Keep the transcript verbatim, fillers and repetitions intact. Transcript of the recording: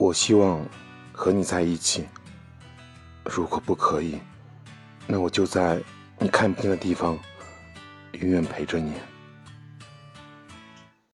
我希望和你在一起，如果不可以，那我就在你看不见的地方永远陪着你。